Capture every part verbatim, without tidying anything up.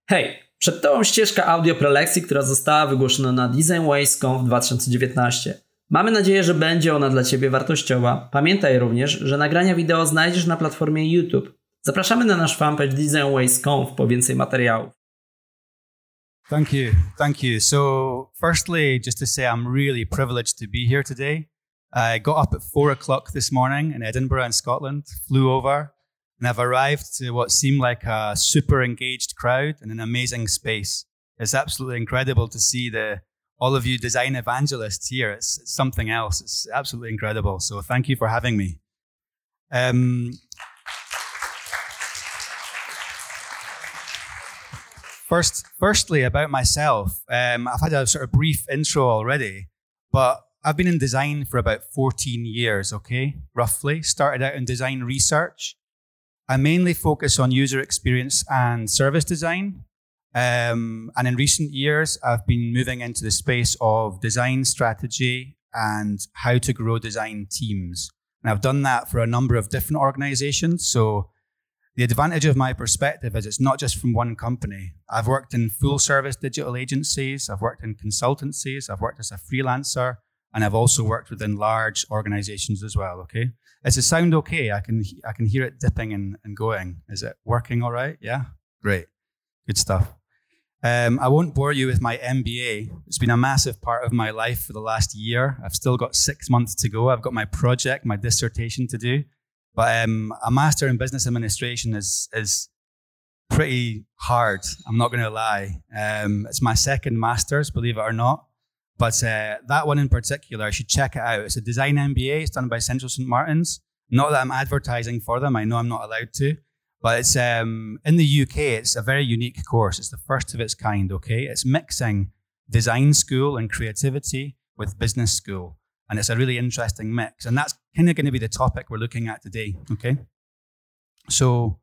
Hej, przed Tobą ścieżka audio prelekcji, która została wygłoszona na DesignWays.conf dwa tysiące dziewiętnaście. Mamy nadzieję, że będzie ona dla Ciebie wartościowa. Pamiętaj również, że nagrania wideo znajdziesz na platformie YouTube. Zapraszamy na nasz fanpage DesignWays.conf po więcej materiałów. Thank you. Thank you. So firstly, just to say I'm really privileged to be here today. I got up at four o'clock this morning in Edinburgh in Scotland, flew over, and I've arrived to what seemed like a super engaged crowd in an amazing space. It's absolutely incredible to see the all of you design evangelists here. It's, it's something else. It's absolutely incredible. So thank you for having me. Um, First, firstly, about myself, um, I've had a sort of brief intro already, but I've been in design for about fourteen years, okay, roughly. Started out in design research. I mainly focus on user experience and service design. Um, and in recent years, I've been moving into the space of design strategy and how to grow design teams. And I've done that for a number of different organizations. So the advantage of my perspective is it's not just from one company. I've worked in full service digital agencies, I've worked in consultancies, I've worked as a freelancer, and I've also worked within large organizations as well, okay? Does it sound okay? I can I can hear it dipping and, and going. Is it working all right? Yeah? Great. Good stuff. Um, I won't bore you with my M B A. It's been a massive part of my life for the last year. I've still got six months to go. I've got my project, my dissertation to do. But um, a master in business administration is is pretty hard. I'm not going to lie. Um, it's my second master's, believe it or not. But uh, that one in particular, I should check it out. It's a design M B A. It's done by Central Saint Martins. Not that I'm advertising for them. I know I'm not allowed to. But it's um, in the U K, it's a very unique course. It's the first of its kind, okay? It's mixing design school and creativity with business school. And it's a really interesting mix. And that's kind of going to be the topic we're looking at today, okay? So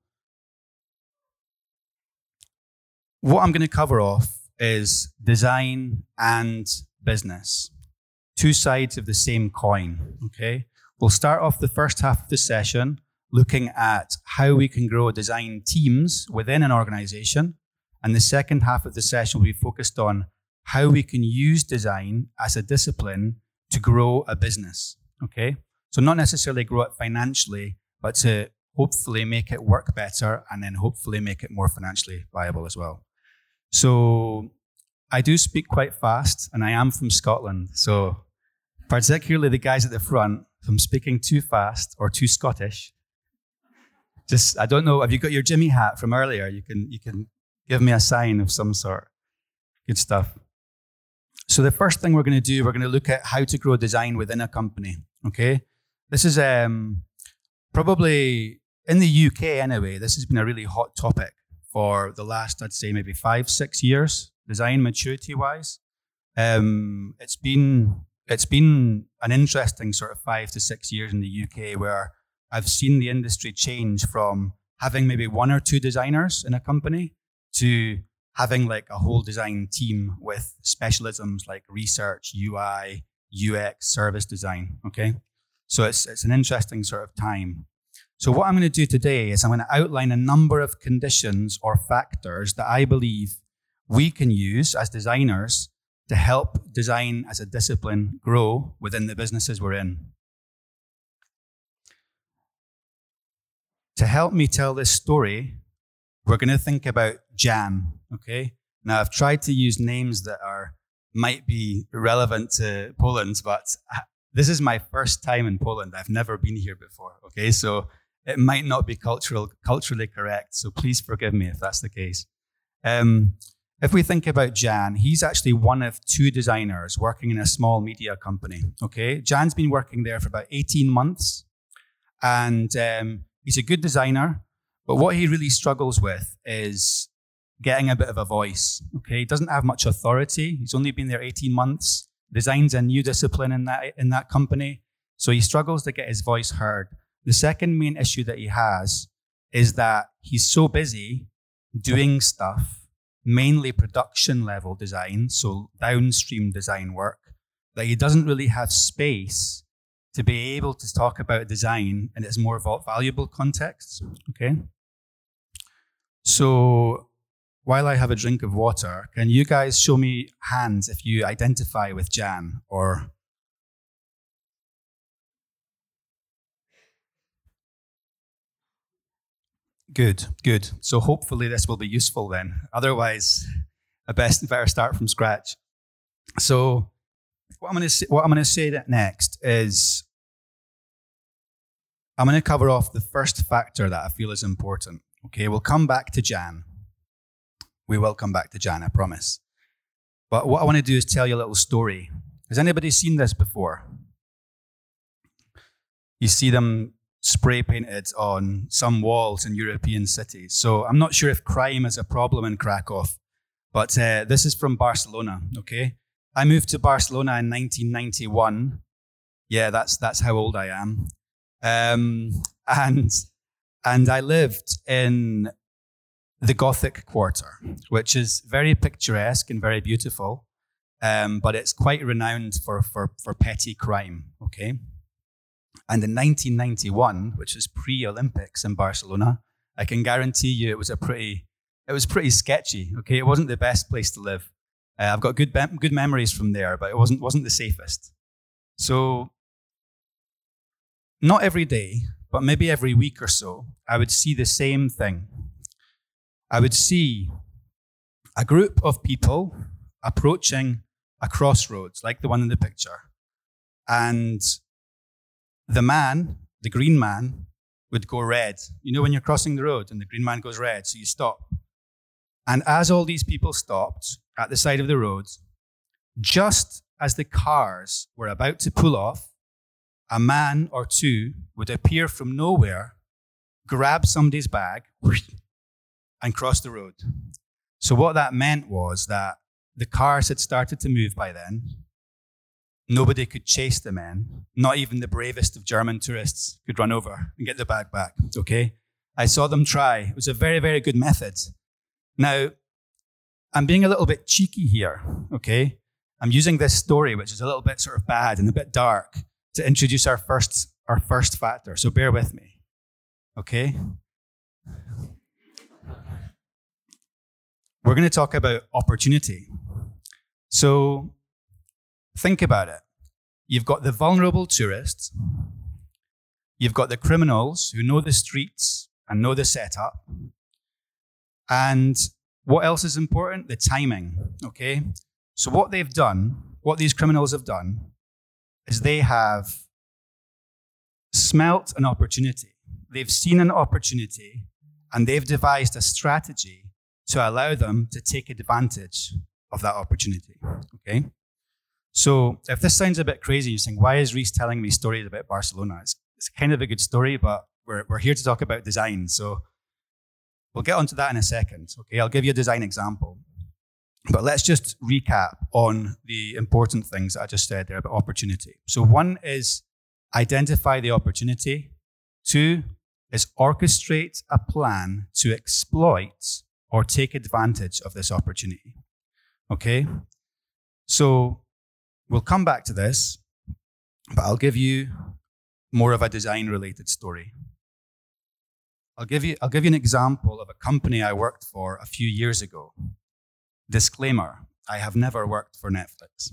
what I'm going to cover off is design and business. Two sides of the same coin, okay? We'll start off the first half of the session looking at how we can grow design teams within an organization. And the second half of the session will be focused on how we can use design as a discipline to grow a business, okay? So not necessarily grow it financially, but to hopefully make it work better and then hopefully make it more financially viable as well. So I do speak quite fast and I am from Scotland. So particularly the guys at the front, if I'm speaking too fast or too Scottish, just, I don't know, have you got your Jimmy hat from earlier? You can, you can give me a sign of some sort. Good stuff. So the first thing we're going to do, we're going to look at how to grow design within a company, okay? This is um, probably, in the U K anyway, this has been a really hot topic for the last, I'd say, maybe five, six years, design maturity-wise. Um, it's been it's been an interesting sort of five to six years in the U K where I've seen the industry change from having maybe one or two designers in a company to having like a whole design team with specialisms like research, U I, U X, service design, okay? So it's it's an interesting sort of time. So what I'm going to do today is I'm going to outline a number of conditions or factors that I believe we can use as designers to help design as a discipline grow within the businesses we're in. To help me tell this story, we're going to think about Jan, okay? Now, I've tried to use names that are might be relevant to Poland, but this is my first time in Poland. I've never been here before, okay? So it might not be cultural, culturally correct, so please forgive me if that's the case. Um, if we think about Jan, he's actually one of two designers working in a small media company, okay? Jan's been working there for about eighteen months, and um, he's a good designer. But what he really struggles with is getting a bit of a voice, okay? He doesn't have much authority. He's only been there eighteen months. Design's a new discipline in that in that company. So he struggles to get his voice heard. The second main issue that he has is that he's so busy doing stuff, mainly production level design, so downstream design work, that he doesn't really have space to be able to talk about design in its more valuable contexts, okay? So while I have a drink of water, can you guys show me hands if you identify with Jan or... Good, good. So hopefully this will be useful then. Otherwise, I best better start from scratch. So what I'm going to say, what I'm going to say next is I'm going to cover off the first factor that I feel is important. Okay, we'll come back to Jan. We will come back to Jan, I promise. But what I want to do is tell you a little story. Has anybody seen this before? You see them spray painted on some walls in European cities. So I'm not sure if crime is a problem in Krakow, but uh, this is from Barcelona, okay? I moved to Barcelona in nineteen ninety-one. Yeah, that's that's how old I am. Um, and and I lived in the Gothic Quarter, which is very picturesque and very beautiful, um, but it's quite renowned for, for, for petty crime, okay? And in nineteen ninety-one, which is pre-Olympics in Barcelona, I can guarantee you it was a pretty, it was pretty sketchy, okay? It wasn't the best place to live. Uh, I've got good be- good memories from there, but it wasn't wasn't the safest. So, not every day, but maybe every week or so, I would see the same thing. I would see a group of people approaching a crossroads, like the one in the picture, and the man, the green man, would go red. You know when you're crossing the road and the green man goes red, so you stop. And as all these people stopped at the side of the road, just as the cars were about to pull off, a man or two would appear from nowhere, grab somebody's bag, and cross the road. So what that meant was that the cars had started to move by then. Nobody could chase the men. Not even the bravest of German tourists could run over and get the bag back, okay? I saw them try. It was a very, very good method. Now, I'm being a little bit cheeky here, okay? I'm using this story, which is a little bit sort of bad and a bit dark, to introduce our first, our first factor. So bear with me, okay? We're going to talk about opportunity. So think about it. You've got the vulnerable tourists. You've got the criminals who know the streets and know the setup. And what else is important? The timing, okay? So what they've done, what these criminals have done, is they have smelt an opportunity. They've seen an opportunity, and they've devised a strategy to allow them to take advantage of that opportunity, okay? So if this sounds a bit crazy, you're saying, why is Rhys telling me stories about Barcelona? It's, it's kind of a good story, but we're, we're here to talk about design. So we'll get onto that in a second, okay? I'll give you a design example. But let's just recap on the important things that I just said there about opportunity. So one is identify the opportunity. Two is orchestrate a plan to exploit or take advantage of this opportunity, okay? So we'll come back to this, but I'll give you more of a design-related story. I'll give you, I'll give you an example of a company I worked for a few years ago. Disclaimer, I have never worked for Netflix.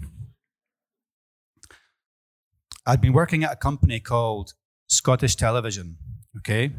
I'd been working at a company called Scottish Television, okay?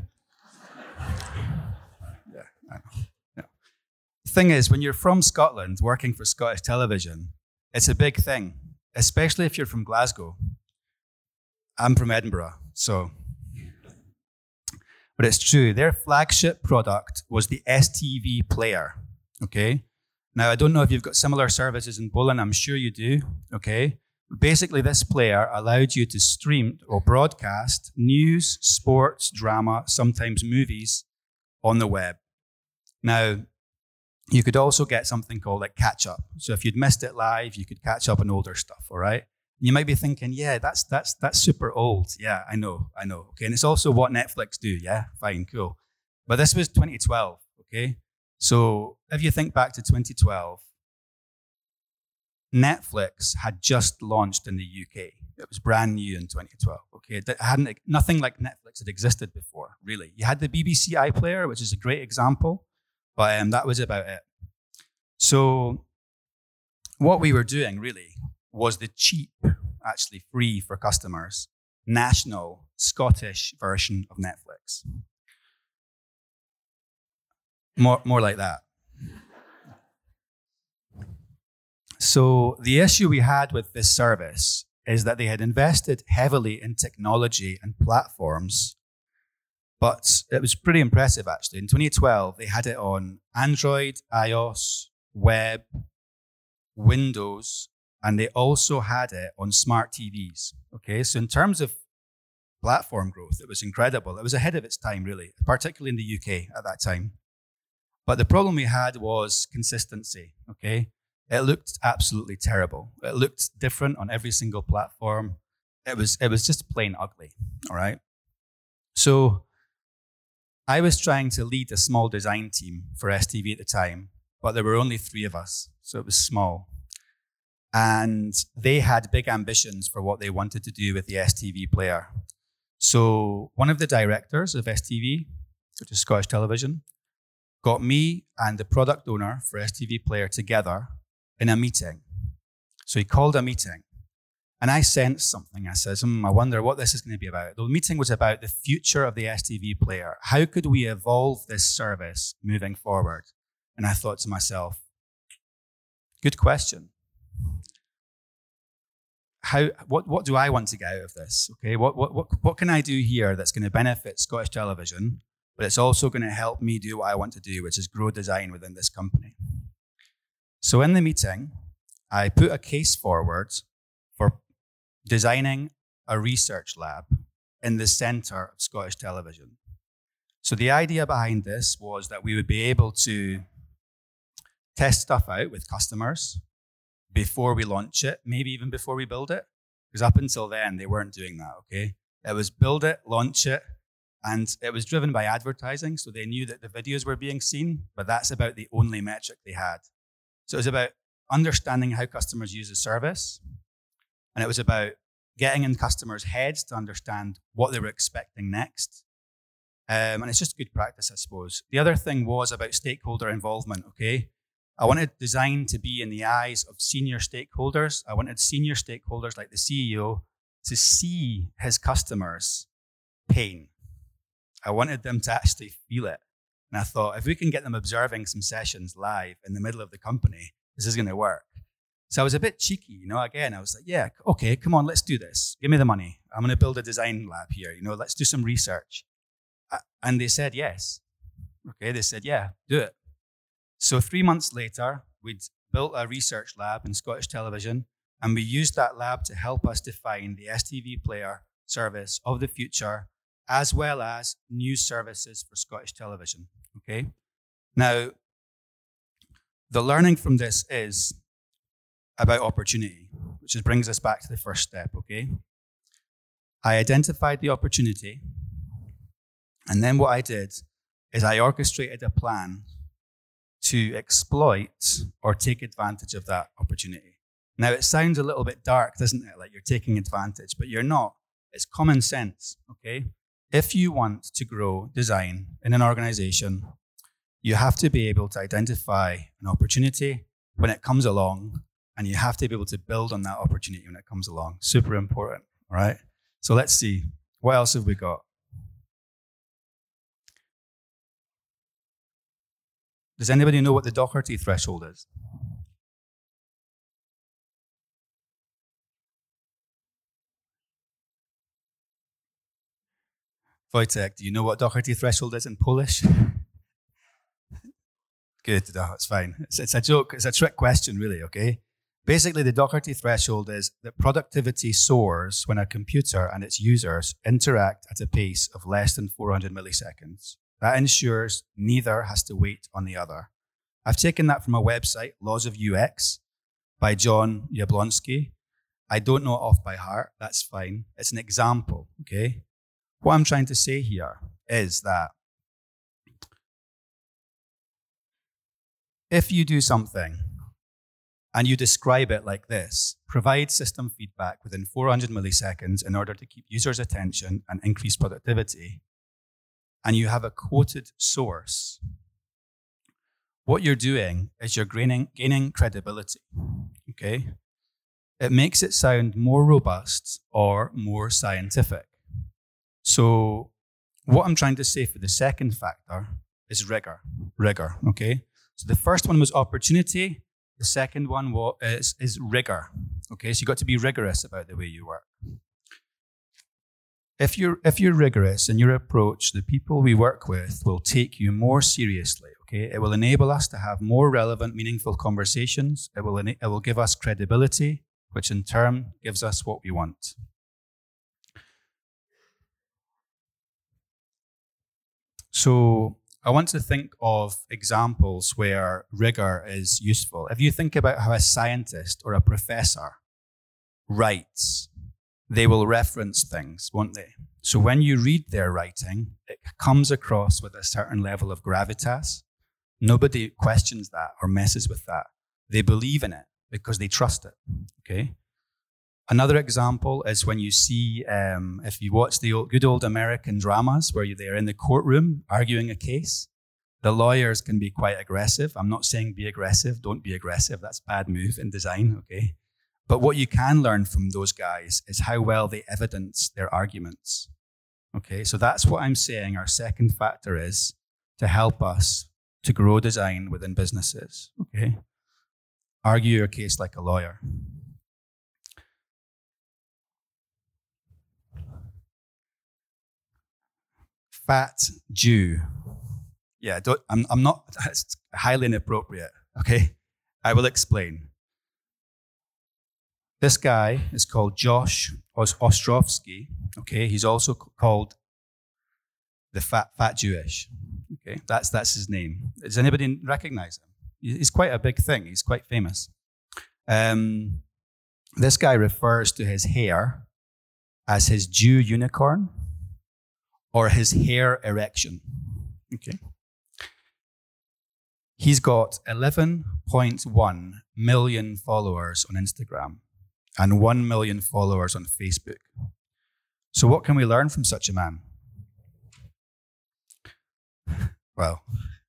Yeah, I know. Yeah. The thing is, when you're from Scotland working for Scottish Television, it's a big thing, especially if you're from Glasgow. I'm from Edinburgh, so. But it's true, their flagship product was the S T V player, okay? Now, I don't know if you've got similar services in Poland, I'm sure you do, okay? But basically, this player allowed you to stream or broadcast news, sports, drama, sometimes movies on the web. Now, you could also get something called like catch up. So if you'd missed it live, you could catch up on older stuff, all right? And you might be thinking, yeah, that's that's that's super old. Yeah, I know, I know. Okay, and it's also what Netflix do. Yeah, fine, cool. But this was twenty twelve, okay? So if you think back to twenty twelve, Netflix had just launched in the U K. It was brand new in twenty twelve, okay? It hadn't, nothing like Netflix had existed before, really. You had the B B C iPlayer, which is a great example, But um, that was about it. So what we were doing really was the cheap, actually free for customers, national Scottish version of Netflix. More, more like that. So the issue we had with this service is that they had invested heavily in technology and platforms, but it was pretty impressive actually. In twenty twelve, they had it on Android, iOS, web, Windows, and they also had it on smart T Vs. Okay, so in terms of platform growth, it was incredible. It was ahead of its time, really, particularly in the U K at that time. But the problem we had was consistency, okay? It looked absolutely terrible. It looked different on every single platform. It was, it was just plain ugly, all right? So I was trying to lead a small design team for S T V at the time, but there were only three of us, so it was small. And they had big ambitions for what they wanted to do with the S T V player. So one of the directors of S T V, which is Scottish Television, got me and the product owner for S T V Player together in a meeting. So he called a meeting, and I sensed something. I said, hmm, I wonder what this is going to be about. The meeting was about the future of the S T V Player. How could we evolve this service moving forward? And I thought to myself, good question. How, what, what do I want to get out of this? Okay, what, what, what, what can I do here that's going to benefit Scottish Television, but it's also going to help me do what I want to do, which is grow design within this company? So in the meeting, I put a case forward for designing a research lab in the center of Scottish Television. So the idea behind this was that we would be able to test stuff out with customers before we launch it, maybe even before we build it. Because up until then, they weren't doing that, okay? It was build it, launch it, and it was driven by advertising, so they knew that the videos were being seen, but that's about the only metric they had. So it was about understanding how customers use the service, and it was about getting in customers' heads to understand what they were expecting next. Um, and it's just good practice, I suppose. The other thing was about stakeholder involvement, okay? I wanted design to be in the eyes of senior stakeholders. I wanted senior stakeholders like the C E O to see his customers' pain. I wanted them to actually feel it. And I thought, if we can get them observing some sessions live in the middle of the company, this is going to work. So I was a bit cheeky, you know, again, I was like, yeah, okay, come on, let's do this. Give me the money. I'm going to build a design lab here, you know, let's do some research. And they said yes. Okay, they said, yeah, do it. So three months later, we'd built a research lab in Scottish Television, and we used that lab to help us define the S T V Player service of the future, as well as new services for Scottish Television, okay? Now, the learning from this is about opportunity, which is, brings us back to the first step, okay? I identified the opportunity, and then what I did is I orchestrated a plan to exploit or take advantage of that opportunity. Now, it sounds a little bit dark, doesn't it? Like you're taking advantage, but you're not. It's common sense, okay? If you want to grow design in an organization, you have to be able to identify an opportunity when it comes along, and you have to be able to build on that opportunity when it comes along. Super important, all right? So let's see. What else have we got? Does anybody know what the Doherty threshold is? Wojtek, do you know what Doherty threshold is in Polish? Good, no, it's fine. It's, it's a joke, it's a trick question, really, okay? Basically, the Doherty threshold is that productivity soars when a computer and its users interact at a pace of less than four hundred milliseconds. That ensures neither has to wait on the other. I've taken that from a website, Laws of U X, by John Jablonski. I don't know it off by heart, that's fine. It's an example, okay? What I'm trying to say here is that if you do something and you describe it like this, provide system feedback within four hundred milliseconds in order to keep users' attention and increase productivity, and you have a quoted source, what you're doing is you're gaining, gaining credibility, okay? It makes it sound more robust or more scientific. So what I'm trying to say for the second factor is rigor, rigor, okay? So the first one was opportunity. The second one was, is, is rigor, okay? So you've got to be rigorous about the way you work. If you're, if you're rigorous in your approach, the people we work with will take you more seriously, okay? It will enable us to have more relevant, meaningful conversations. It will, it will give us credibility, which in turn gives us what we want. So I want to think of examples where rigor is useful. If you think about how a scientist or a professor writes, they will reference things, won't they? So when you read their writing, it comes across with a certain level of gravitas. Nobody questions that or messes with that. They believe in it because they trust it, okay? Another example is when you see, um, if you watch the old, good old American dramas where they're in the courtroom arguing a case, the lawyers can be quite aggressive. I'm not saying be aggressive, don't be aggressive. That's a bad move in design, okay? But what you can learn from those guys is how well they evidence their arguments, okay? So that's what I'm saying our second factor is to help us to grow design within businesses, okay? Argue your case like a lawyer. Fat Jew. Yeah, don't, I'm, I'm not, that's highly inappropriate, okay? I will explain. This guy is called Josh Ostrovsky, okay? He's also called the Fat Fat Jewish, okay? That's, that's his name. Does anybody recognize him? He's quite a big thing. He's quite famous. Um, this guy refers to his hair as his Jew unicorn, or his hair erection, okay? He's got eleven point one million followers on Instagram and one million followers on Facebook. So what can we learn from such a man? Well,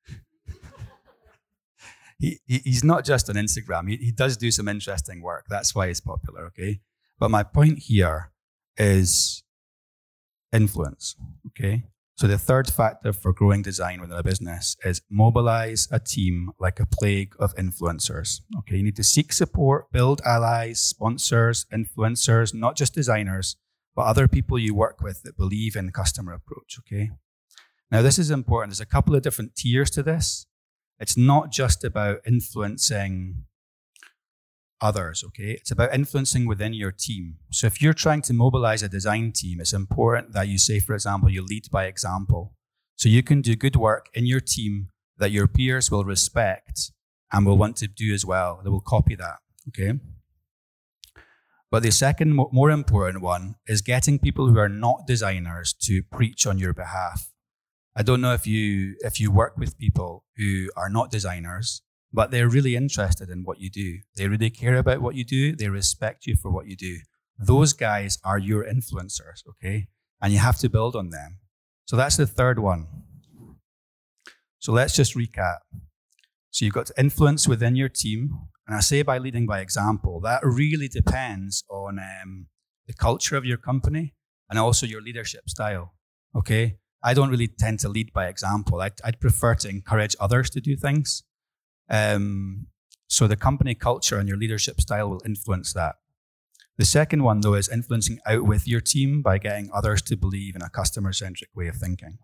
he, he he's not just on Instagram. He, he does do some interesting work. That's why he's popular, okay? But my point here is influence, okay? So the third factor for growing design within a business is mobilize a team like a plague of influencers, okay? You need to seek support, build allies, sponsors, influencers, not just designers, but other people you work with that believe in the customer approach, okay? Now, this is important. There's a couple of different tiers to this. It's not just about influencing others, okay? It's about influencing within your team. So if you're trying to mobilize a design team, it's important that you say, for example, you lead by example. So you can do good work in your team that your peers will respect and will want to do as well. They will copy that, okay? But the second, more important one is getting people who are not designers to preach on your behalf. I don't know if you if you work with people who are not designers, but they're really interested in what you do. They really care about what you do. They respect you for what you do. Those guys are your influencers, okay? And you have to build on them. So that's the third one. So let's just recap. So you've got to influence within your team. And I say by leading by example, that really depends on um, the culture of your company and also your leadership style, okay? I don't really tend to lead by example. I'd, I'd prefer to encourage others to do things. Um, so the company culture and your leadership style will influence that. The second one, though, is influencing out with your team by getting others to believe in a customer-centric way of thinking.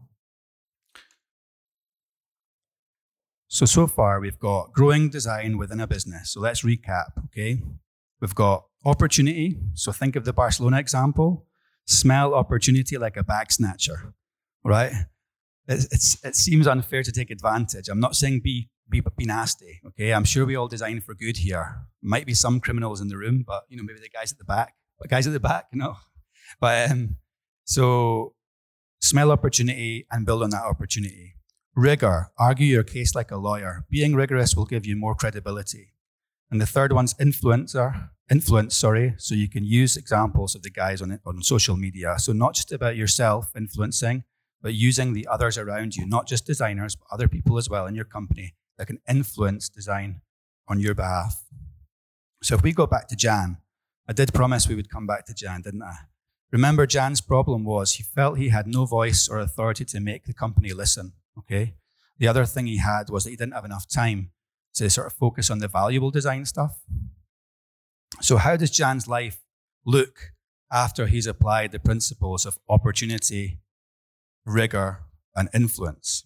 So, so far, we've got growing design within a business. So let's recap, okay? We've got opportunity. So think of the Barcelona example. Smell opportunity like a bag snatcher, right? It's, it's, it seems unfair to take advantage. I'm not saying be Be, be nasty, okay? I'm sure we all design for good here. Might be some criminals in the room, but, you know, maybe the guys at the back. But guys at the back, no. But, um, so, smell opportunity and build on that opportunity. Rigor, argue your case like a lawyer. Being rigorous will give you more credibility. And the third one's influencer, influence, sorry, so you can use examples of the guys on, on social media. So not just about yourself influencing, but using the others around you, not just designers, but other people as well in your company that can influence design on your behalf. So if we go back to Jan, I did promise we would come back to Jan, didn't I? Remember, Jan's problem was he felt he had no voice or authority to make the company listen, okay? The other thing he had was that he didn't have enough time to sort of focus on the valuable design stuff. So how does Jan's life look after he's applied the principles of opportunity, rigor, and influence?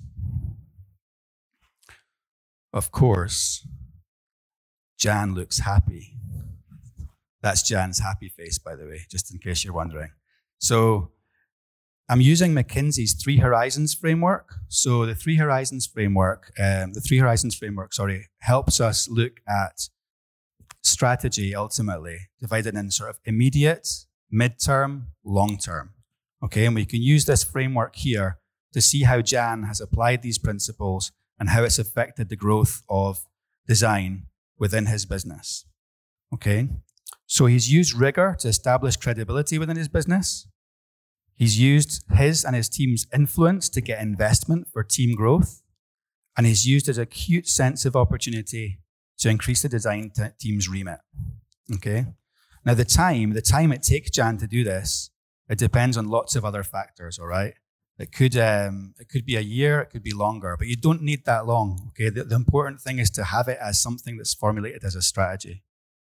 Of course, Jan looks happy. That's Jan's happy face, by the way, just in case you're wondering. So I'm using McKinsey's Three Horizons framework. So the Three Horizons framework, um, the Three Horizons framework, sorry, helps us look at strategy ultimately, divided in sort of immediate, midterm, long-term. Okay, and we can use this framework here to see how Jan has applied these principles and how it's affected the growth of design within his business. Okay, so he's used rigor to establish credibility within his business. He's used his and his team's influence to get investment for team growth. And he's used his acute sense of opportunity to increase the design t- team's remit. Okay, now the time, the time it takes Jan to do this, it depends on lots of other factors, all right? It could um, it could be a year, it could be longer, but you don't need that long, okay? The, the important thing is to have it as something that's formulated as a strategy.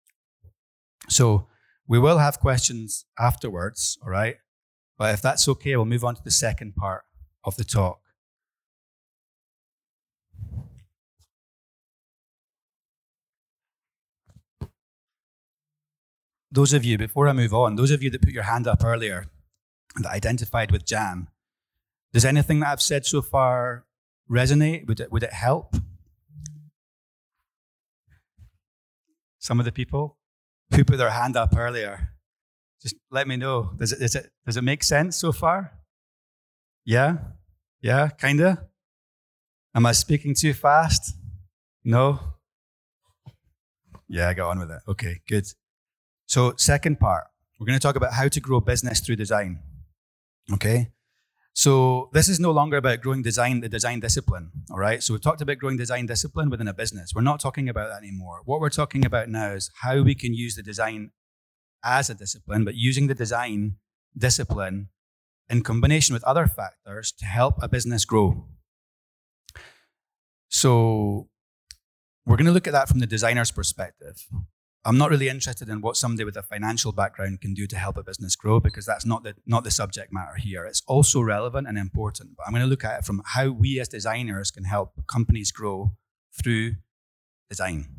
So we will have questions afterwards, all right? But if that's okay, we'll move on to the second part of the talk. Those of you, before I move on, those of you that put your hand up earlier that identified with Jan, does anything that I've said so far resonate? Would it, would it help? Some of the people who put their hand up earlier, just let me know. Does it, does it, does it make sense so far? Yeah? Yeah, kinda? Am I speaking too fast? No? Yeah, I got on with it. Okay, good. So second part, we're going to talk about how to grow business through design. Okay? So this is no longer about growing design, the design discipline, all right? So we've talked about growing design discipline within a business. We're not talking about that anymore. What we're talking about now is how we can use the design as a discipline, but using the design discipline in combination with other factors to help a business grow. So we're going to look at that from the designer's perspective. I'm not really interested in what somebody with a financial background can do to help a business grow, because that's not the not the subject matter here. It's also relevant and important, but I'm going to look at it from how we as designers can help companies grow through design.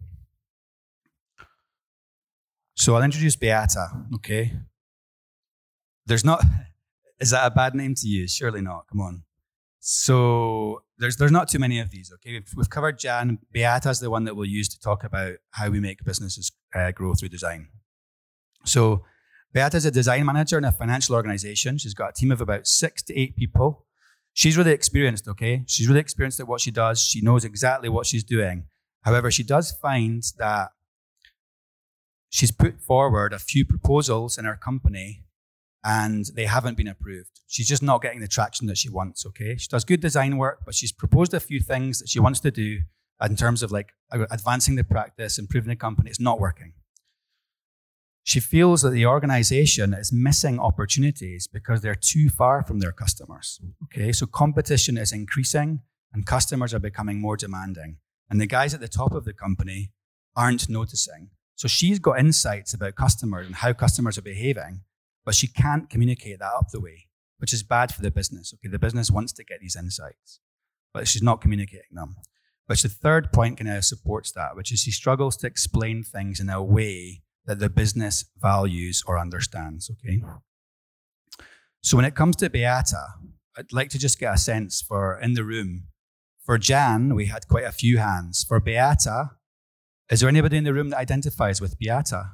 So I'll introduce Beata, okay? There's not, is that a bad name to use? Surely not, come on. So there's there's not too many of these, okay? We've, we've covered Jan. Beata's the one that we'll use to talk about how we make businesses uh, grow through design. So Beata's a design manager in a financial organization. She's got a team of about six to eight people. She's really experienced, okay? She's really experienced at what she does. She knows exactly what she's doing. However, she does find that she's put forward a few proposals in her company and they haven't been approved. She's just not getting the traction that she wants, okay? She does good design work, but she's proposed a few things that she wants to do in terms of like advancing the practice, improving the company. It's not working. She feels that the organization is missing opportunities because they're too far from their customers, okay? So competition is increasing and customers are becoming more demanding. And the guys at the top of the company aren't noticing. So she's got insights about customers and how customers are behaving, but she can't communicate that up the way, which is bad for the business. Okay, the business wants to get these insights, but she's not communicating them. But the third point kind of supports that, which is she struggles to explain things in a way that the business values or understands, okay? So when it comes to Beata, I'd like to just get a sense for, in the room, for Jan, we had quite a few hands. For Beata, is there anybody in the room that identifies with Beata?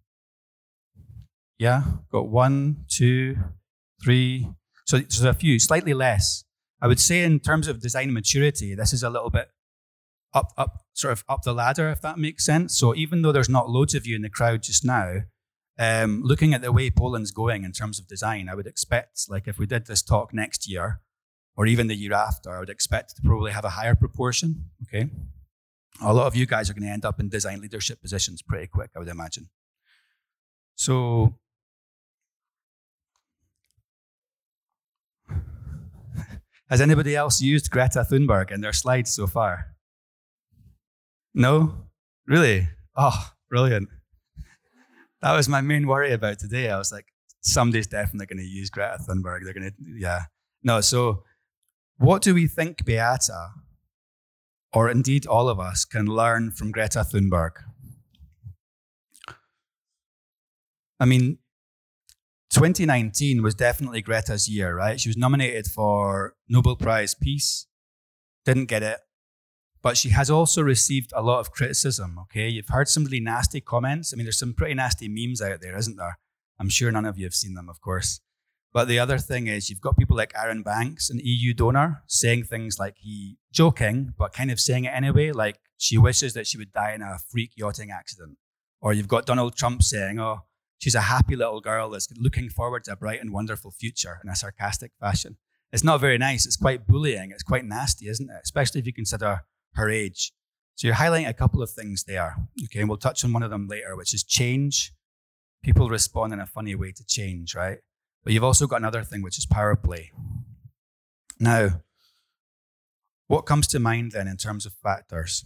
Yeah, got one, two, three. So there's a few, slightly less. I would say in terms of design maturity, this is a little bit up, up, sort of up the ladder, if that makes sense. So even though there's not loads of you in the crowd just now, um, looking at the way Poland's going in terms of design, I would expect, like if we did this talk next year, or even the year after, I would expect to probably have a higher proportion, okay? A lot of you guys are going to end up in design leadership positions pretty quick, I would imagine. So, has anybody else used Greta Thunberg in their slides so far? No? Really? Oh, brilliant. That was my main worry about today. I was like, somebody's definitely going to use Greta Thunberg. They're going to, yeah. No, so what do we think Beata, or indeed all of us, can learn from Greta Thunberg? I mean, twenty nineteen was definitely Greta's year, right? She was nominated for Nobel Prize Peace, didn't get it, but she has also received a lot of criticism, okay? You've heard some really nasty comments. I mean, there's some pretty nasty memes out there, isn't there? I'm sure none of you have seen them, of course. But the other thing is you've got people like Aaron Banks, an E U donor, saying things like he, joking, but kind of saying it anyway, like she wishes that she would die in a freak yachting accident. Or you've got Donald Trump saying, oh, she's a happy little girl that's looking forward to a bright and wonderful future in a sarcastic fashion. It's not very nice. It's quite bullying. It's quite nasty, isn't it? Especially if you consider her age. So you're highlighting a couple of things there. Okay, and we'll touch on one of them later, which is change. People respond in a funny way to change, right? But you've also got another thing, which is power play. Now, what comes to mind then in terms of factors?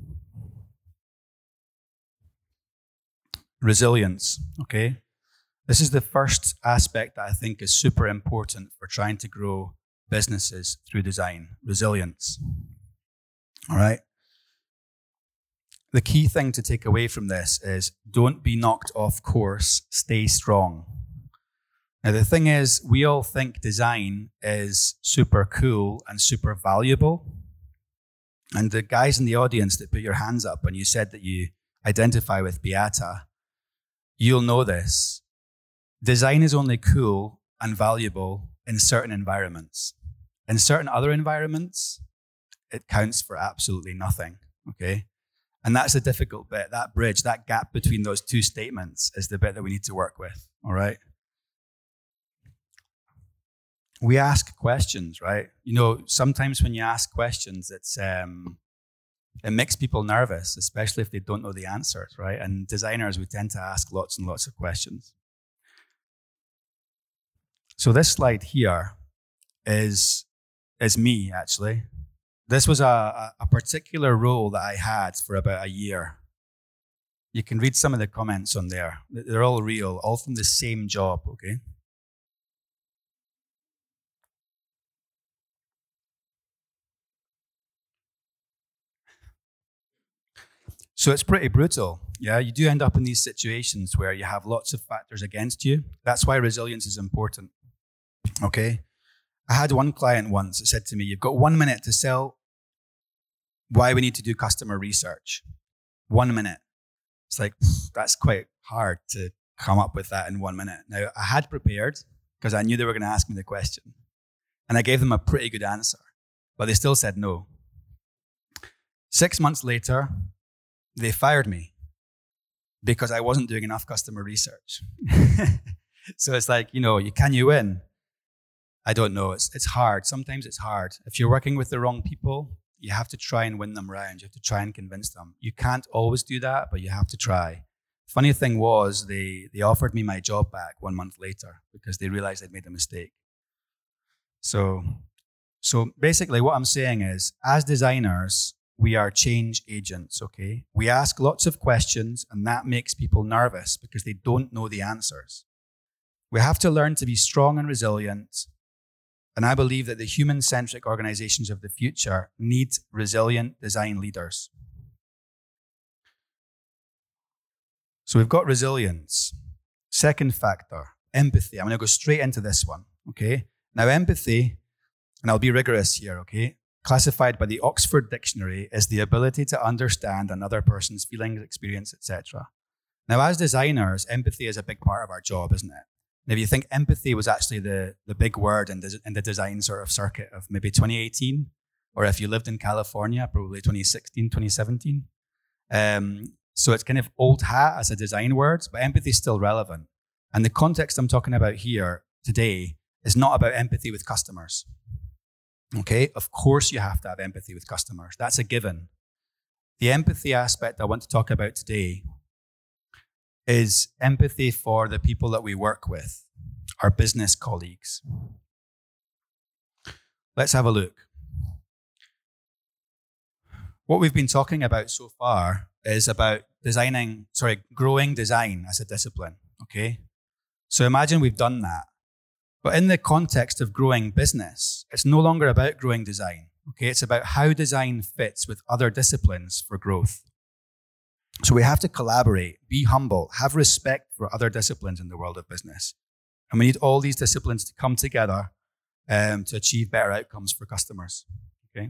Resilience, okay? This is the first aspect that I think is super important for trying to grow businesses through design, resilience, all right? The key thing to take away from this is don't be knocked off course, stay strong. Now, the thing is, we all think design is super cool and super valuable. And the guys in the audience that put your hands up when you said that you identify with Beata, you'll know this. Design is only cool and valuable in certain environments. In certain other environments, it counts for absolutely nothing, okay? And that's the difficult bit. That bridge, that gap between those two statements is the bit that we need to work with, all right? We ask questions, right? You know, sometimes when you ask questions, it's um, it makes people nervous, especially if they don't know the answers, right? And designers, we tend to ask lots and lots of questions. So this slide here is, is me, actually. This was a, a particular role that I had for about a year. You can read some of the comments on there. They're all real, all from the same job, okay? So it's pretty brutal. Yeah, you do end up in these situations where you have lots of factors against you. That's why resilience is important. Okay? I had one client once that said to me, you've got one minute to sell why we need to do customer research. One minute. It's like, that's quite hard to come up with that in one minute. Now, I had prepared because I knew they were going to ask me the question. And I gave them a pretty good answer, but they still said no. Six months later, they fired me because I wasn't doing enough customer research. So it's like, you know, you can you win? I don't know. It's it's hard. Sometimes it's hard. If you're working with the wrong people, you have to try and win them round. You have to try and convince them. You can't always do that, but you have to try. Funny thing was, they they offered me my job back one month later because they realized I'd made a mistake. So, so basically what I'm saying is, as designers, we are change agents, okay? We ask lots of questions, and that makes people nervous because they don't know the answers. We have to learn to be strong and resilient. And I believe that the human-centric organizations of the future need resilient design leaders. So we've got resilience. Second factor, empathy. I'm going to go straight into this one, okay? Now, empathy, and I'll be rigorous here, okay? Classified by the Oxford Dictionary as the ability to understand another person's feelings, experience, et cetera. Now, as designers, empathy is a big part of our job, isn't it? And if you think empathy was actually the, the big word in the, in the design sort of circuit of maybe twenty eighteen, or if you lived in California, probably twenty sixteen, twenty seventeen. Um, so it's kind of old hat as a design word, but empathy is still relevant. And the context I'm talking about here today is not about empathy with customers. Okay, of course you have to have empathy with customers. That's a given. The empathy aspect I want to talk about today is empathy for the people that we work with, our business colleagues. Let's have a look. What we've been talking about so far is about designing, sorry, growing design as a discipline, okay? So imagine we've done that. But in the context of growing business, it's no longer about growing design, okay? It's about how design fits with other disciplines for growth. So we have to collaborate, be humble, have respect for other disciplines in the world of business. And we need all these disciplines to come together um, to achieve better outcomes for customers, okay?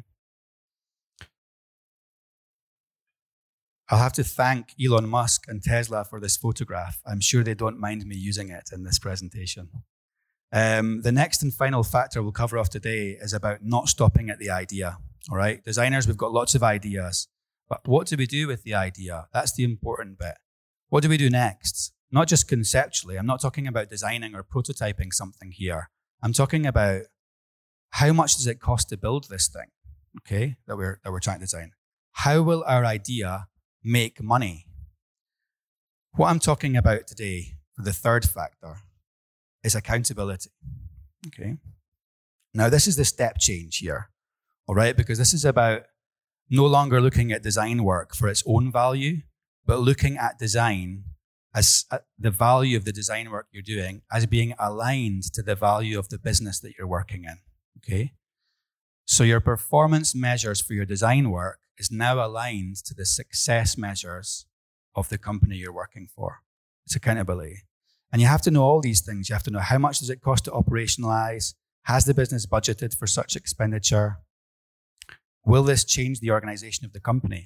I'll have to thank Elon Musk and Tesla for this photograph. I'm sure they don't mind me using it in this presentation. Um, the next and final factor we'll cover off today is about not stopping at the idea, all right? Designers, we've got lots of ideas, but what do we do with the idea? That's the important bit. What do we do next? Not just conceptually. I'm not talking about designing or prototyping something here. I'm talking about how much does it cost to build this thing, okay, that we're, that we're trying to design? How will our idea make money? What I'm talking about today for the third factor is accountability, okay? Now, this is the step change here, all right? Because this is about no longer looking at design work for its own value, but looking at design as uh, the value of the design work you're doing as being aligned to the value of the business that you're working in, okay? So your performance measures for your design work is now aligned to the success measures of the company you're working for. It's accountability. And you have to know all these things. You have to know how much does it cost to operationalize? Has the business budgeted for such expenditure? Will this change the organization of the company?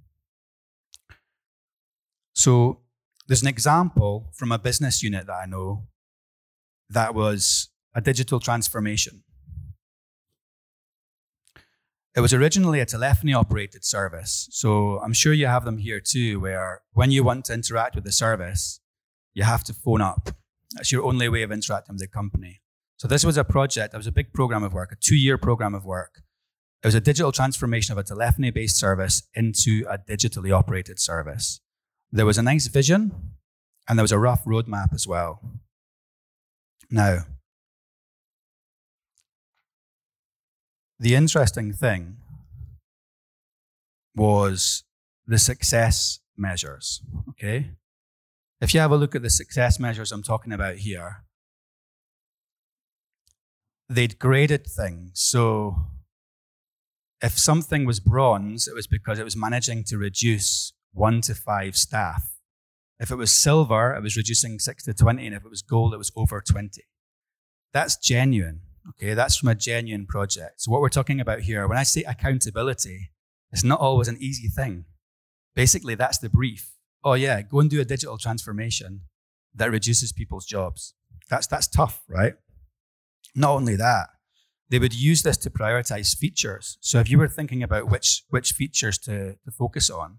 So there's an example from a business unit that I know that was a digital transformation. It was originally a telephony-operated service. So I'm sure you have them here too, where when you want to interact with the service, you have to phone up. That's your only way of interacting with the company. So this was a project, it was a big program of work, a two-year program of work. It was a digital transformation of a telephony-based service into a digitally operated service. There was a nice vision, and there was a rough roadmap as well. Now, the interesting thing was the success measures, okay? If you have a look at the success measures I'm talking about here, they'd graded things. So if something was bronze, it was because it was managing to reduce one to five staff. If it was silver, it was reducing six to twenty, and if it was gold, it was over twenty. That's genuine, okay? That's from a genuine project. So what we're talking about here, when I say accountability, it's not always an easy thing. Basically, that's the brief. Oh yeah, go and do a digital transformation that reduces people's jobs. That's that's tough, right? Not only that, they would use this to prioritize features. So if you were thinking about which which features to, to focus on,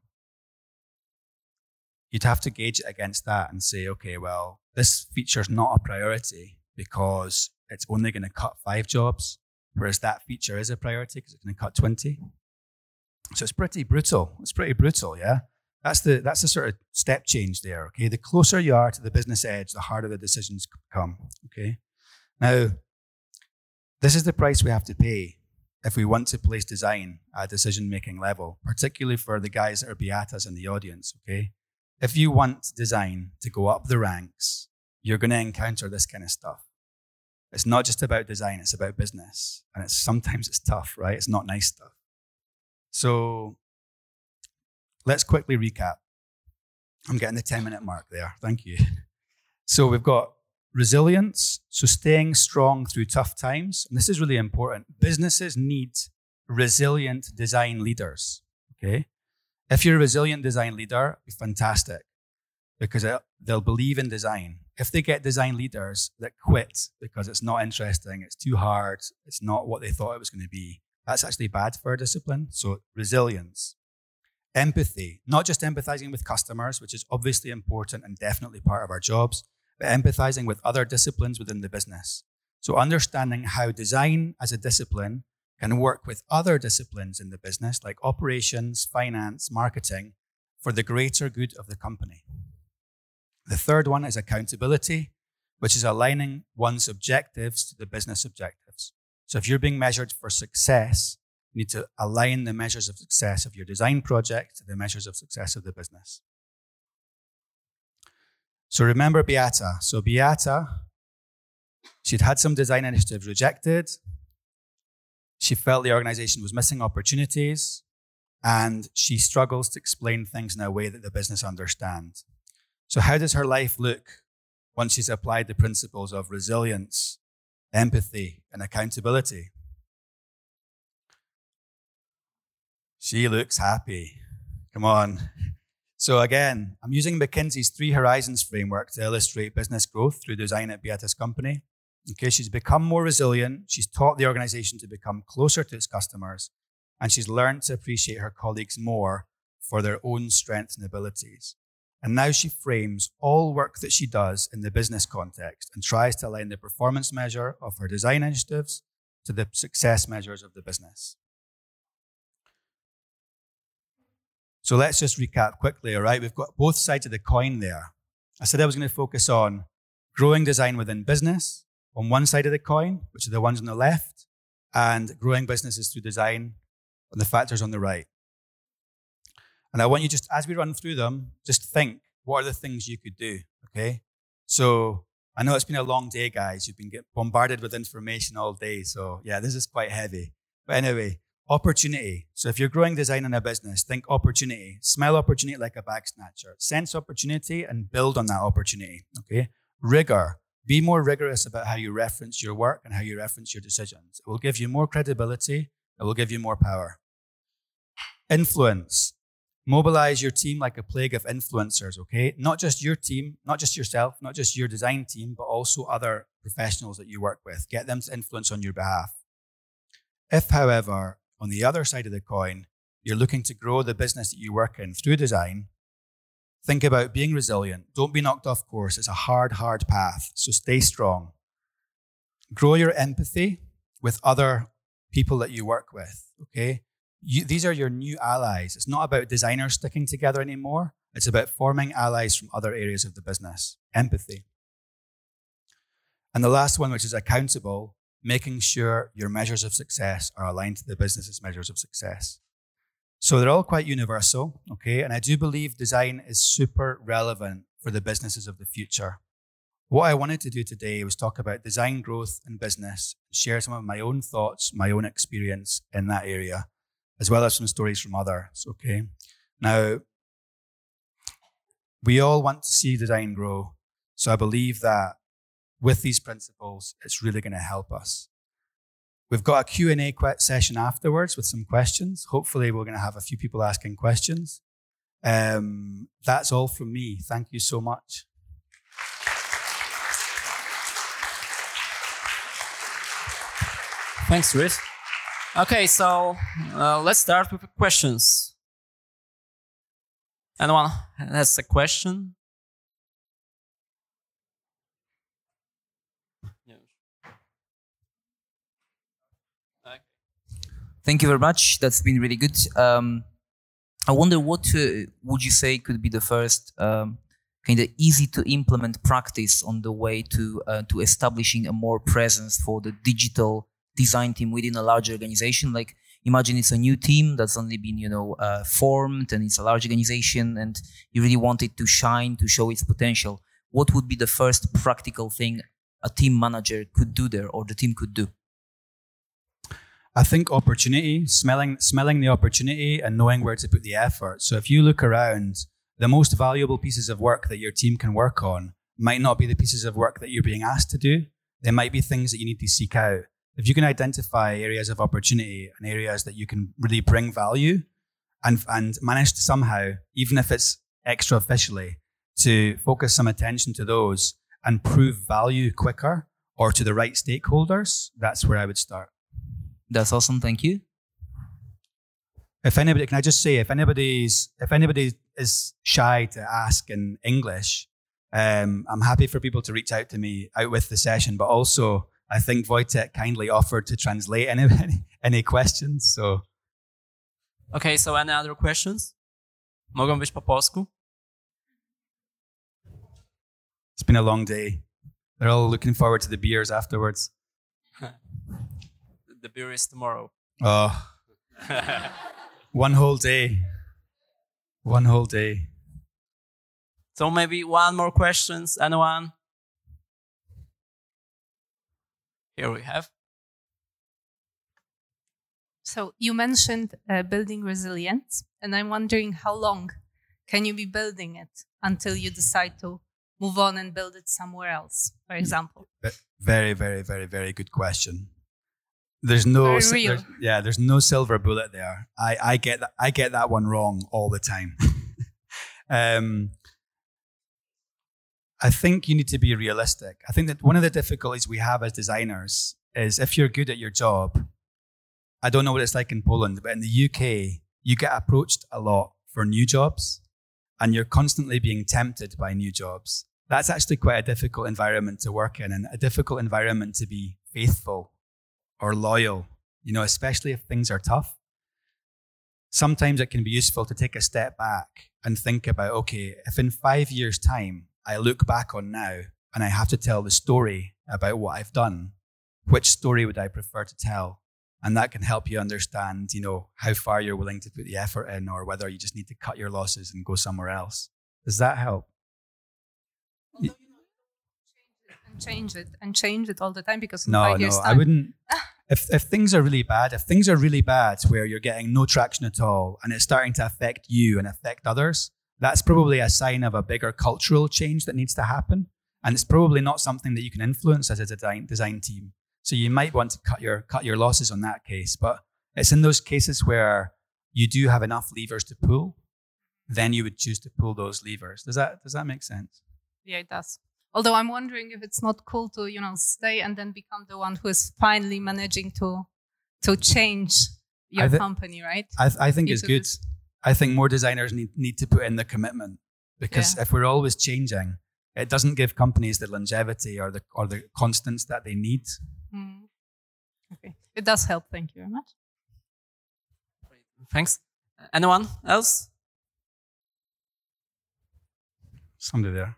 you'd have to gauge it against that and say, okay, well, this feature's not a priority because it's only going to cut five jobs, whereas that feature is a priority because it's going to cut twenty. So it's pretty brutal. It's pretty brutal, yeah? That's the that's the sort of step change there, okay? The closer you are to the business edge, the harder the decisions come, okay? Now, this is the price we have to pay if we want to place design at a decision-making level, particularly for the guys that are beatas in the audience, okay? If you want design to go up the ranks, you're going to encounter this kind of stuff. It's not just about design, it's about business. And it's sometimes it's tough, right? It's not nice stuff. So let's quickly recap. I'm getting the ten-minute mark there. Thank you. So we've got resilience, so staying strong through tough times. And this is really important. Businesses need resilient design leaders, okay? If you're a resilient design leader, be fantastic because they'll believe in design. If they get design leaders that quit because it's not interesting, it's too hard, it's not what they thought it was going to be, that's actually bad for a discipline. So resilience. Empathy, not just empathizing with customers, which is obviously important and definitely part of our jobs, but empathizing with other disciplines within the business. So understanding how design as a discipline can work with other disciplines in the business, like operations, finance, marketing, for the greater good of the company. The third one is accountability, which is aligning one's objectives to the business objectives. So if you're being measured for success, you need to align the measures of success of your design project to the measures of success of the business. So remember Beata. So Beata, she'd had some design initiatives rejected. She felt the organization was missing opportunities, and she struggles to explain things in a way that the business understands. So how does her life look once she's applied the principles of resilience, empathy, and accountability? She looks happy. Come on. So again, I'm using McKinsey's Three Horizons framework to illustrate business growth through design at Beata's company. Okay, she's become more resilient. She's taught the organization to become closer to its customers, and she's learned to appreciate her colleagues more for their own strengths and abilities. And now she frames all work that she does in the business context and tries to align the performance measure of her design initiatives to the success measures of the business. So let's just recap quickly, all right? We've got both sides of the coin there. I said I was going to focus on growing design within business on one side of the coin, which are the ones on the left, and growing businesses through design on the factors on the right. And I want you just, as we run through them, just think, what are the things you could do, okay? So I know it's been a long day, guys. You've been getting bombarded with information all day. So yeah, this is quite heavy. But anyway, opportunity. So if you're growing design in a business, think opportunity. Smell opportunity like a bag snatcher. Sense opportunity and build on that opportunity, okay? Rigor. Be more rigorous about how you reference your work and how you reference your decisions. It will give you more credibility. It will give you more power. Influence. Mobilize your team like a plague of influencers, okay? Not just your team, not just yourself, not just your design team, but also other professionals that you work with. Get them to influence on your behalf. If, however, on the other side of the coin, you're looking to grow the business that you work in through design, think about being resilient. Don't be knocked off course. It's a hard, hard path, so stay strong. Grow your empathy with other people that you work with, okay? You, these are your new allies. It's not about designers sticking together anymore. It's about forming allies from other areas of the business. Empathy. And the last one, which is accountable, making sure your measures of success are aligned to the business's measures of success. So they're all quite universal, okay? And I do believe design is super relevant for the businesses of the future. What I wanted to do today was talk about design growth in business, share some of my own thoughts, my own experience in that area, as well as some stories from others, okay? Now, we all want to see design grow, so I believe that with these principles, it's really going to help us. We've got a Q and A session afterwards with some questions. Hopefully, we're going to have a few people asking questions. Um, that's all from me. Thank you so much. Thanks, Chris. Okay, so uh, let's start with the questions. Anyone has a question? Thank you very much. That's been really good. Um, I wonder what uh, would you say could be the first um, kind of easy to implement practice on the way to uh, to establishing a more presence for the digital design team within a large organization? Like, imagine it's a new team that's only been, you know, uh, formed, and it's a large organization, and you really want it to shine, to show its potential. What would be the first practical thing a team manager could do there, or the team could do? I think opportunity, smelling smelling the opportunity and knowing where to put the effort. So if you look around, the most valuable pieces of work that your team can work on might not be the pieces of work that you're being asked to do. They might be things that you need to seek out. If you can identify areas of opportunity and areas that you can really bring value and, and manage to somehow, even if it's extra officially, to focus some attention to those and prove value quicker or to the right stakeholders, that's where I would start. That's awesome. Thank you. If anybody, can I just say, if anybody's, if anybody is shy to ask in English, um, I'm happy for people to reach out to me out with the session, but also I think Wojtek kindly offered to translate any any, any questions. So, okay, so any other questions? Mogą być po polsku? It's been a long day. They're all looking forward to the beers afterwards. The beer is tomorrow. Oh, one whole day. One whole day. So maybe one more questions. Anyone? Here we have. So you mentioned uh, building resilience, and I'm wondering how long can you be building it until you decide to move on and build it somewhere else, for example? Very, very, very, very good question. There's no, Very real. there's, yeah, there's no silver bullet there. I, I get that. I get that one wrong all the time. um, I think you need to be realistic. I think that one of the difficulties we have as designers is if you're good at your job, I don't know what it's like in Poland, but in the U K, you get approached a lot for new jobs and you're constantly being tempted by new jobs. That's actually quite a difficult environment to work in and a difficult environment to be faithful or loyal, you know, especially if things are tough. Sometimes it can be useful to take a step back and think about, okay, if in five years' time, I look back on now and I have to tell the story about what I've done, which story would I prefer to tell? And that can help you understand, you know, how far you're willing to put the effort in or whether you just need to cut your losses and go somewhere else. Does that help? And change it and change it all the time because in No, five no, years' I time, wouldn't. If if things are really bad, if things are really bad where you're getting no traction at all and it's starting to affect you and affect others, that's probably a sign of a bigger cultural change that needs to happen. And it's probably not something that you can influence as a design design team. So you might want to cut your cut your losses on that case. But it's in those cases where you do have enough levers to pull, then you would choose to pull those levers. Does that does that make sense? yeah, it does. Although I'm wondering if it's not cool to, you know, stay and then become the one who is finally managing to to change your th- company, right? I, th- I think it's Into good. this- I think more designers need, need to put in the commitment because Yeah. if we're always changing, it doesn't give companies the longevity or the or the constants that they need. Mm. Okay, it does help. Thank you very much. Thanks. Anyone else? Somebody there.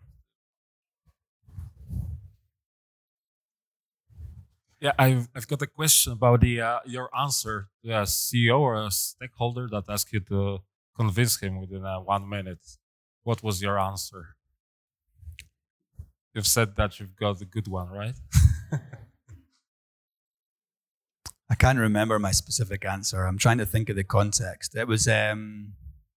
Yeah, I've I've got a question about the uh, your answer to a C E O or a stakeholder that asked you to convince him within uh, one minute. What was your answer? You've said that you've got a good one, right? I can't remember my specific answer. I'm trying to think of the context. It was um,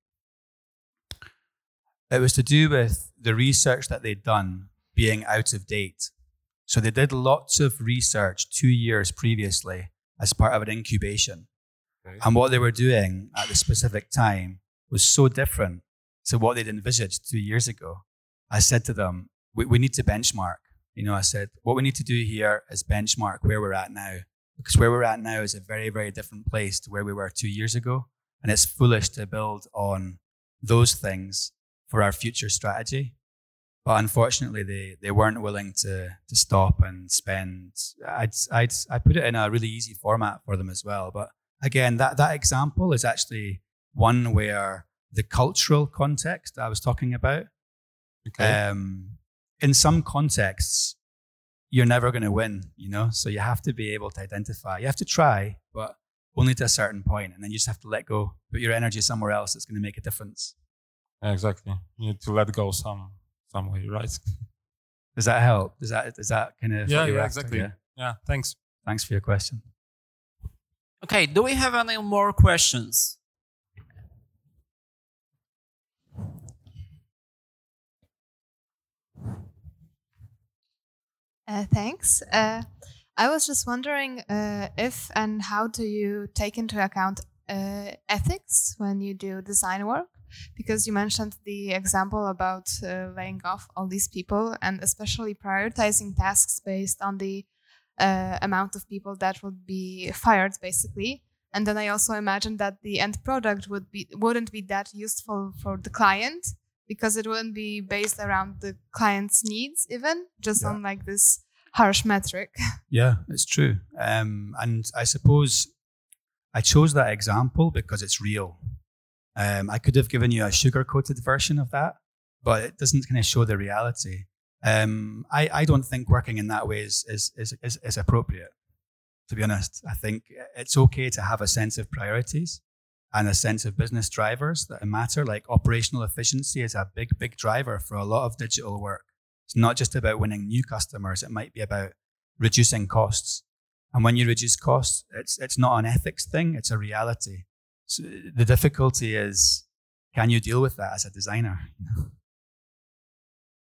it was to do with the research that they'd done being out of date. So they did lots of research two years previously as part of an incubation. Okay. And what they were doing at the specific time was so different to what they'd envisaged two years ago. I said to them, we, we need to benchmark. You know, I said, what we need to do here is benchmark where we're at now. Because where we're at now is a very, very different place to where we were two years ago. And it's foolish to build on those things for our future strategy. But unfortunately, they, they weren't willing to to stop and spend. I'd I'd I put it in a really easy format for them as well. But again, that that example is actually one where the cultural context I was talking about. Okay. Um, in some contexts, you're never going to win. You know, so you have to be able to identify. You have to try, but only to a certain point, and then you just have to let go. Put your energy somewhere else that's going to make a difference. Yeah, exactly. You need to let go some some way, right? Does that help? Does that does that kind of Yeah, what you're yeah, after? exactly. Yeah. Yeah, thanks. Thanks for your question. Okay, do we have any more questions? Uh, thanks. Uh, I was just wondering uh, if and how do you take into account uh, ethics when you do design work? Because you mentioned the example about uh, laying off all these people and especially prioritizing tasks based on the uh, amount of people that would be fired, basically. And then I also imagine that the end product would be wouldn't be that useful for the client because it wouldn't be based around the client's needs, even just Yeah. on like this harsh metric. Yeah, it's true. Um, and I suppose I chose that example because it's real. Um, I could have given you a sugar-coated version of that, but it doesn't kind of show the reality. Um, I, I don't think working in that way is, is, is, is, is appropriate, to be honest. I think it's okay to have a sense of priorities and a sense of business drivers that matter. Like operational efficiency is a big, big driver for a lot of digital work. It's not just about winning new customers. It might be about reducing costs. And when you reduce costs, it's it's not an ethics thing, it's a reality. So the difficulty is, can you deal with that as a designer?